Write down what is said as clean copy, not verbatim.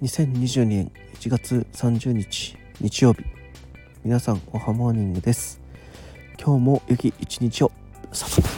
2022年1月30日日曜日、皆さんおはモーニングです。今日も良き一日を。